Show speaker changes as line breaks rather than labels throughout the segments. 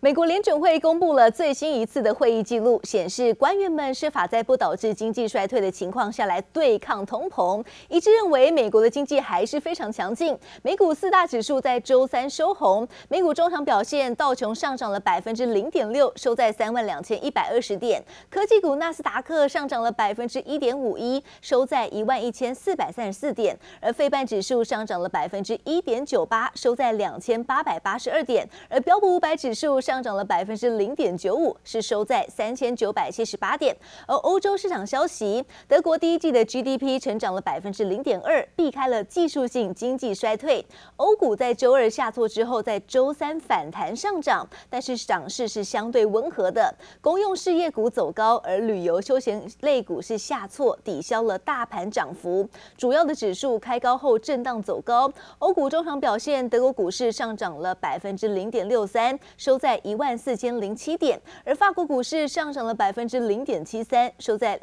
美國聯準會公布了最新一次的會議記錄，顯示官員們設法在不導致經濟衰退的情況下來對抗通膨，一致認為美國的經濟還是非常強勁。美股四大指數在周三收紅，美股中場表現，道瓊上漲了0.6%，收在32120點；科技股納斯達克上漲了1.51%，收在11434點；而費半指數上漲了1.98%，收在2882點；而標普500指數上漲了0.95%，是收在3978點。而歐洲市場消息，德國第一季的 GDP 成長了0.2%，避開了技術性經濟衰退。歐股在周二下挫之後，在周三反彈上漲，但是漲勢是相對溫和的。公用事業股走高，而旅遊休閒類股是下挫，抵消了大盤漲幅。主要的指數開高後震盪走高。歐股中場表現，德國股市上漲了0.63%，收在14007點，而法國股市上漲了0.73%，收在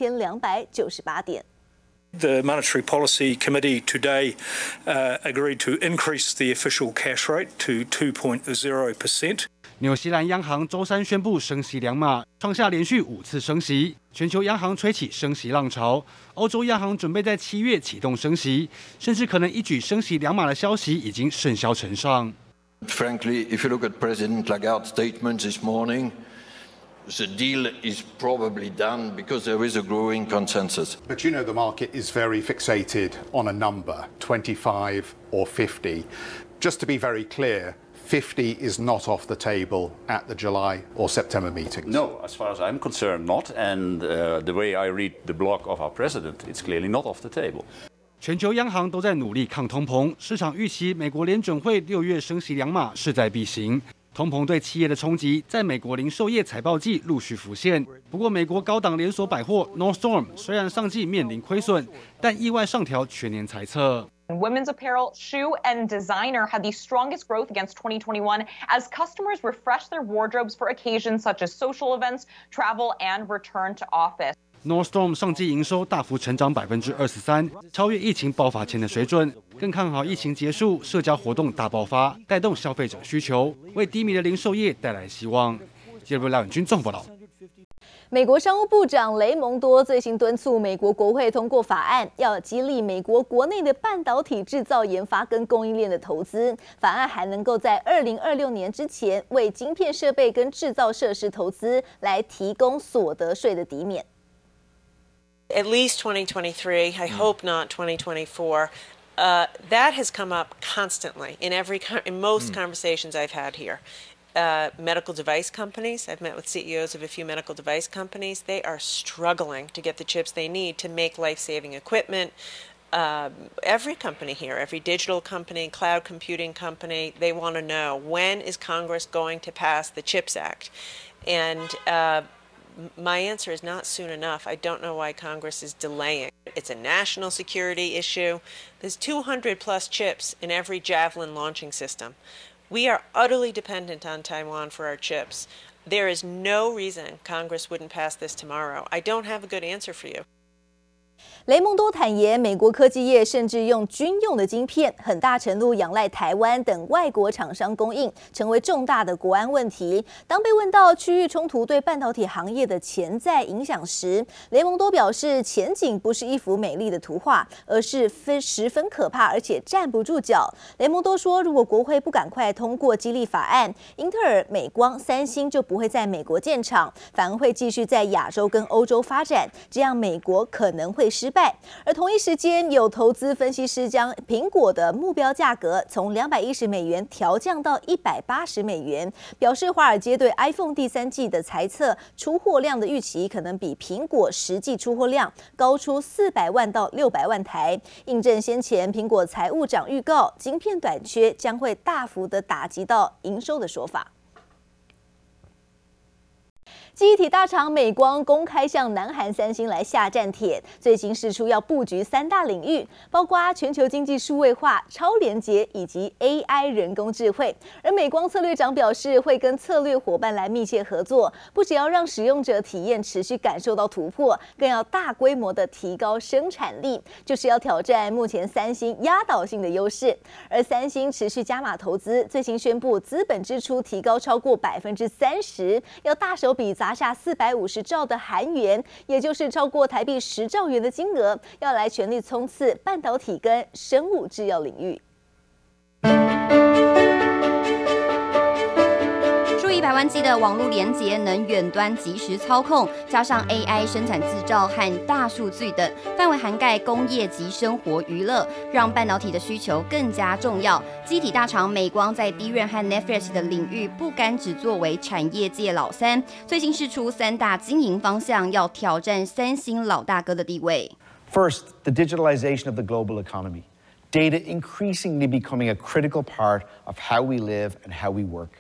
6298點。
The Monetary Policy Committee today agreed to increase the official cash rate to 2.0%.
紐西蘭央行周三宣布升息2碼，創下連續5次升息，全球央行吹起升息浪潮。歐洲央行準備在7月啟動升息，甚至可能一舉升息2碼的消息已經甚囂塵上。
Frankly, if you look at President Lagarde's statement this morning, the deal is probably done because there is a growing consensus.
But you know the market is very fixated on a number, 25 or 50. Just to be very clear, 50 is not off the table at the July or September meetings.
No, as far as I'm concerned, not. And the way I read the block of our president, it's clearly not off the table.
全球央行都在努力抗通膨，市场預期美國聯準會6月升息2碼勢在必行。通膨對企業的衝擊，在美國零售業財報季陸續浮現。不過，美國高檔連鎖百貨 Nordstrom 雖然上季面臨虧損，但意外上調全年財測。
Women's apparel, shoe, and designer had the strongest growth against 2021 as customers refresh their wardrobes for occasions such as social events, travel, and return to office.
Nordstrom 上季營收大幅成長23%，超越疫情爆發前的水準，更看好疫情結束，社交活動大爆發，帶動消費者需求，為低迷的零售業帶來希望。記者廖遠軍綜合報道。
美國商務部長雷蒙多最新敦促美國國會通過法案，要激勵美國國內的半導體製造研發跟供應鏈的投資。法案還能夠在2026年之前為晶片設備跟製造設施投資來提供所得稅的抵免。
At least 2023, I hope not 2024. That has come up constantly in most conversations I've had here. Medical device companies, I've met with CEOs of a few medical device companies. They are struggling to get the chips they need to make life-saving equipment. Every company here, every digital company, cloud computing company, they want to know, when is Congress going to pass the CHIPS Act? And my answer is not soon enough. I don't know why Congress is delaying. It's a national security issue. There's 200 plus chips in every Javelin launching system. We are utterly dependent on Taiwan for our chips. There is no reason Congress wouldn't pass this tomorrow. I don't have a good answer for you.
雷蒙多坦言，美國科技業甚至用軍用的晶片，很大程度仰賴台灣等外國廠商供應，成為重大的國安問題。當被問到區域衝突對半導體行業的潛在影響時，雷蒙多表示，前景不是一幅美麗的圖畫，而是十分可怕，而且站不住腳。雷蒙多說，如果國會不趕快通過激勵法案，英特爾、美光、三星就不會在美國建廠，反而會繼續在亞洲跟歐洲發展，這樣美國可能會失敗。而同一時間，有投資分析師將蘋果的目標價格從$210調降到$180，表示華爾街對 iPhone 第3季的財測出貨量的預期可能比蘋果實際出貨量高出400萬到600萬台，印證先前蘋果財務長預告晶片短缺將會大幅的打擊到營收的說法。 記憶體大廠美光公開向南韓三星來下戰帖，最新釋出要布局3大領域，包括全球經濟數位化、超連結以及 AI 人工智慧。而美光策略長表示，會跟策略夥伴來密切合作，不只要讓使用者體驗持續感受到突破，更要大規模的提高生產力，就是要挑戰目前三星壓倒性的優勢。而三星持續加碼投資，最新宣布資本支出提高超過30%，要大手筆砸下450兆的韓元，也就是超過台幣10兆元的金額，要來全力衝刺半導體跟生物製藥領域。
數以百萬計的網絡連結能遠端即時操控，加上 AI 生產製造和大數據等，範圍涵蓋工業及生活娛樂，讓半導體的需求更加重要。記憶體大廠美光在 DRAM 和 NAND Flash 的領域不甘只作為產業界老三，最新釋出3大經營方向，要挑戰三星老大哥的地位。
First, the digitalization of the global economy. Data increasingly becoming a critical part of how we live and how we work.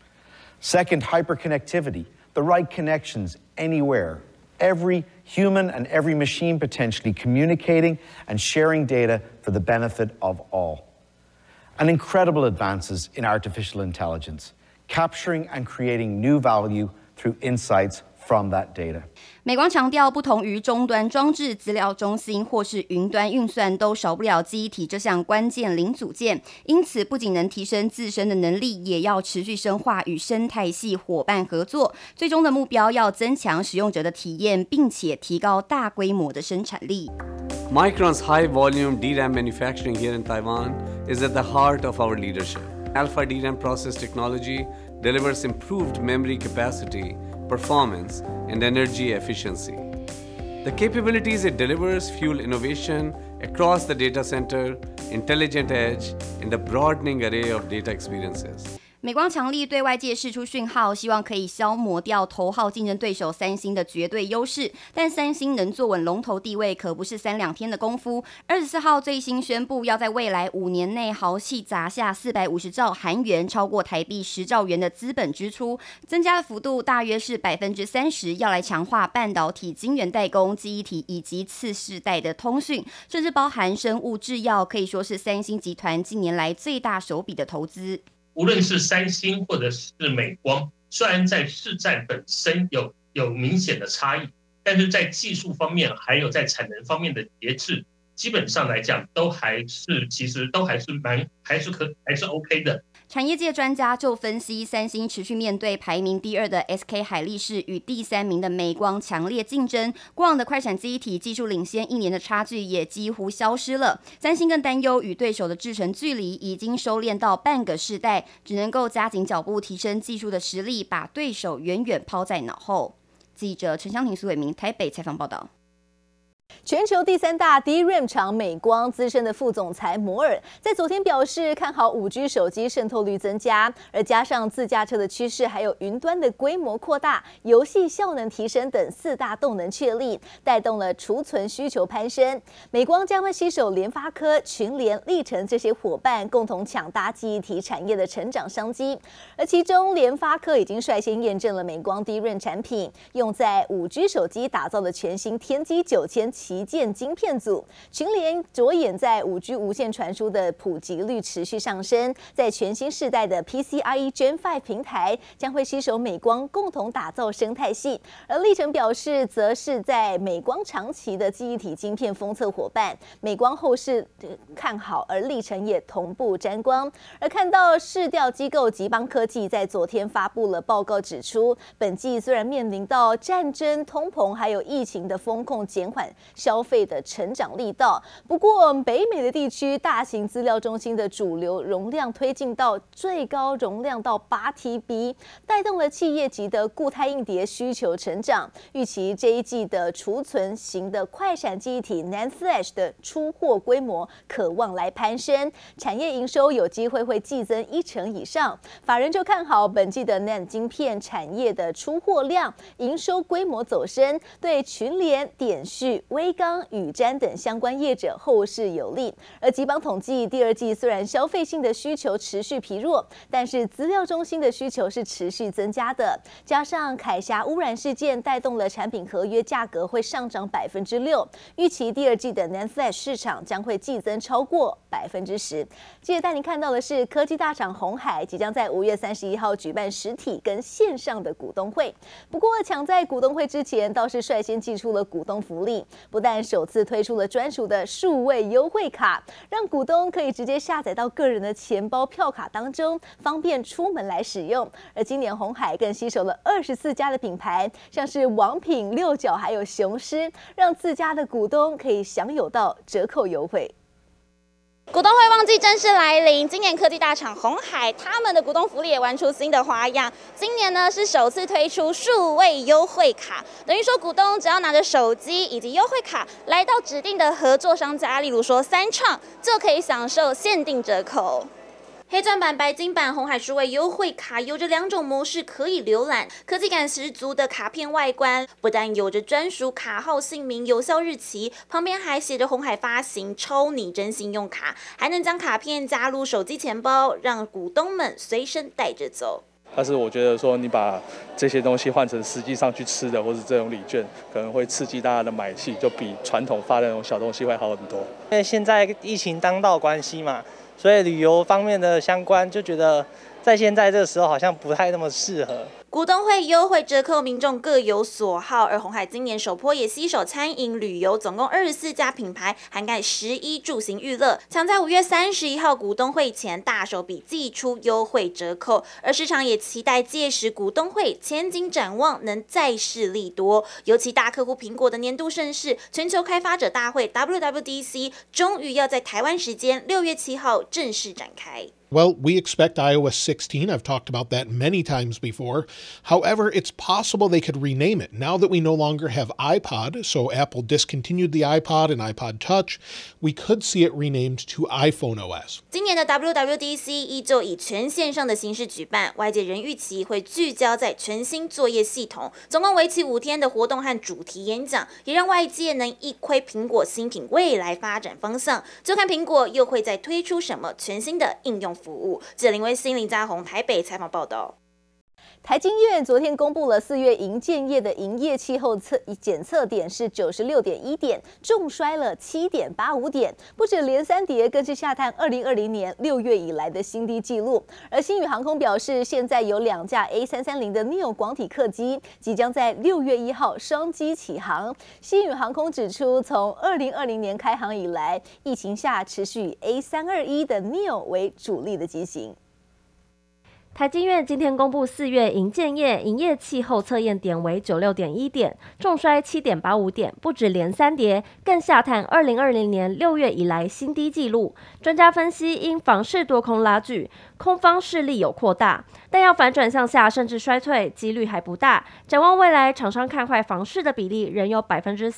Second, hyperconnectivity, the right connections anywhere. Every human and every machine potentially communicating and sharing data for the benefit of all. And incredible advances in artificial intelligence, capturing and creating new value through insights from that data.
美光強調，不同於終端裝置、資料中心或是雲端運算，都少不了記憶體這項關鍵零組件。因此，不僅能提升自身的能力，也要持續深化與生態系夥伴合作。最終的目標要增強使用者的體驗，並且提高大規模的生產力。
Micron's high-volume DRAM manufacturing here in Taiwan is at the heart of our leadership. Alpha DRAM process technology delivers improved memory capacity, performance, and energy efficiency. The capabilities it delivers fuel innovation across the data center, intelligent edge, and a broadening array of data experiences.
美光強力對外界釋出訊號，希望可以消磨掉頭號競爭對手三星的絕對優勢。但三星能坐穩龍頭地位，可不是3-2天的功夫。24號最新宣布，要在未來5年內豪氣砸下450兆韓元，超過台幣10兆元的資本支出，增加的幅度大約是30%，要來強化半導體晶圓代工、記憶體以及次世代的通訊，甚至包含生物製藥，可以說是三星集團近年來最大手筆的投資。
無論是三星或者是美光，雖然在市占本身有明顯的差異，但是在技術方面還有在產能方面的節制，基本上來講都還是其實都還是還是 OK 的。
產業界專家就分析，三星持續面對排名第2的 SK 海力士與第3名的美光強烈競爭，過往的快閃記憶體技術領先1年的差距也幾乎消失了。三星更擔憂與對手的製程距離已經收斂到半個世代，只能夠加緊腳步提升技術的實力，把對手遠遠拋在腦後。記者陳湘婷、蘇偉明台北採訪報道。
全球第3大 DRAM 廠美光資深的副總裁摩爾在昨天表示，看好5G 手機滲透率增加，而加上自駕車的趨勢，還有雲端的規模擴大、遊戲效能提升等4大動能確立，帶動了儲存需求攀升。美光將會攜手聯發科、群聯、力成這些夥伴，共同搶搭記憶體產業的成長商機。而其中，聯發科已經率先驗證了美光 DRAM 產品用在5G 手機打造的全新天璣9000旗艦晶片組，群聯着眼在5G 無線傳輸的普及率持續上升，在全新世代的 PCIe Gen 5平台將會攜手美光共同打造生態系。而力成表示，則是在美光長期的記憶體晶片封測夥伴，美光後市看好，而力成也同步沾光。而看到市調機構集邦科技在昨天發布了報告，指出本季雖然面臨到戰爭、通膨還有疫情的風控減緩消費的成長力道，不過北美的地區大型資料中心的主流容量推進到最高容量到8TB， 帶動了企業級的固態硬碟需求成長。預期這一季的儲存型的快閃記憶體 NAND Flash 的出貨規模可望來攀升，產業營收有機會會季增1%以上。法人就看好本季的 NAND 晶片產業的出貨量、營收規模走升，對群聯、點序、 威剛、宇瞻等相關業者後市有利。而集邦統計，第二季雖然消費性的需求持續疲弱，但是資料中心的需求是持續增加的。加上凱霞污染事件帶動了產品合約價格會上漲6%，預期第二季的 NAND Flash 市場將會季增超過10%。接着帶您看到的是，科技大廠鴻海即將在5月31號舉辦實體跟線上的股東會。不過，搶在股東會之前，倒是率先祭出了股東福利，不但首次推出了專屬的數位優惠卡，讓股東可以直接下載到個人的錢包票卡當中，方便出門來使用。而今年鴻海更攜手了24家的品牌，像是王品、六角還有雄獅，讓自家的股東可以享有到折扣優惠。
股東會旺季正式來臨，今年科技大廠鴻海他們的股東福利也玩出新的花樣。今年呢是首次推出數位優惠卡，等於說股東只要拿着手機以及優惠卡來到指定的合作商家，例如說三創，就可以享受限定折扣。黑鑽版、白金版鴻海數位優惠卡有着2種模式可以瀏覽，科技感十足的卡片外觀，不但有着專屬卡號、姓名、有效日期，旁邊還寫着鴻海發行超擬真信用卡，還能將卡片加入手機錢包，讓股東們隨身帶着走。
但是我覺得說，你把這些東西換成實際上去吃的，或是這種禮券，可能會刺激大家的買氣，就比傳統發的那種小東西會好很多。
因為現在疫情當道關係嘛。所以旅遊方面的相關，就覺得在現在這個時候好像不太那麼適合。
股東會優惠折扣，民眾各有所好。而鴻海今年首波也攜手餐飲、旅遊，總共24家品牌，涵蓋11住行娛樂，搶在5月31號股東會前大手筆祭出優惠折扣。而市場也期待屆時股東會前景展望能再試利多。尤其大客戶蘋果的年度盛事——全球開發者大會 WWDC， 終於要在台灣時間6月7號正式展開。
Well, we expect iOS 16. I've talked about that many times before. However, it's possible they could rename it. Now that we no longer have iPod, so Apple discontinued the iPod and iPod Touch, we could see it renamed to iPhone OS.
今年的 WWDC 依舊以全線上的形式舉辦，外界仍預期會聚焦在全新作業系統，總共為期5天的活動和主題演講，也讓外界能一窺蘋果新品未來發展方向。就看蘋果又會再推出什麼全新的應用服務。記者林威欣、林嘉宏台北採訪報道。
台經院昨天公布了4月營建業的營業氣候檢測點是96.1點，重摔了7.85點，不止連3跌，更是下探2020年6月以來的新低紀錄。而星宇航空表示，現在有2架 A330的 Neo 廣體客機即將在6月1號雙機起航。星宇航空指出，從2020年開航以來，疫情下持續以 A321的 Neo 為主力的機型。
台經院今天公布4月營建業營業氣候測驗點為96.1點，重摔7.85點，不止連3跌，更下探2020年6月以來新低紀錄。專家分析，因房市多空拉鋸，空方勢力有擴大，但要反轉向下甚至衰退幾率還不大。展望未來，廠商看壞房市的比例仍有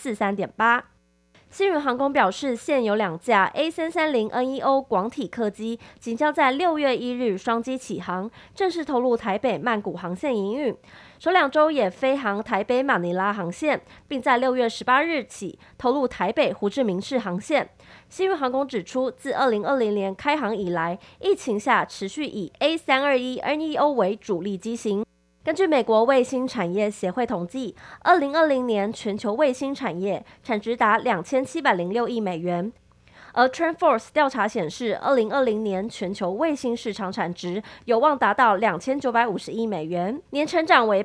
43.8%。星宇航空表示，現有2架 A330neo 廣體客機即將在6月1日雙機起航，正式投入台北曼谷航線營運。首2週也飛航台北馬尼拉航線，並在6月18日起投入台北胡志明市航線。星宇航空指出，自2020年開航以來，疫情下持續以 A321neo 為主力機型。根據美國衛星產業協會統計，2020年全球衛星產業產值達2706億美元，而 TrendForce 調查顯示，2020年全球衛星市場產值有望達到2950億美元，年成長為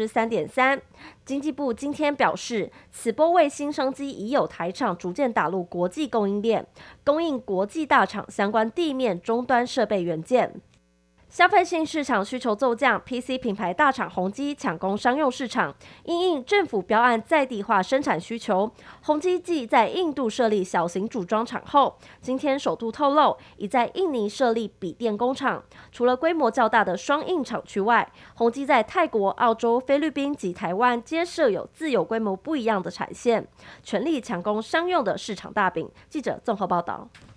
3.3%。經濟部今天表示，此波衛星商機已有台廠逐漸打入國際供應鏈，供應國際大廠相關地面終端設備元件。消費性市場需求驟降 ，PC 品牌大廠宏碁搶攻商用市場，因應政府標案在地化生產需求，宏碁繼在印度設立小型組裝廠後，今天首度透露已在印尼設立筆電工廠。除了規模較大的雙印廠區外，宏碁在泰國、澳洲、菲律賓及台灣皆設有自有規模不一樣的產線，全力搶攻商用的市場大餅。記者綜合報道。